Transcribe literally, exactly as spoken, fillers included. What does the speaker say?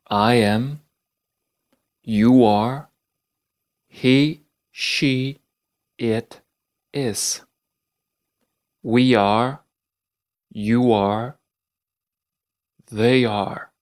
I am, you are, he, she, it is. We are, you are, they are.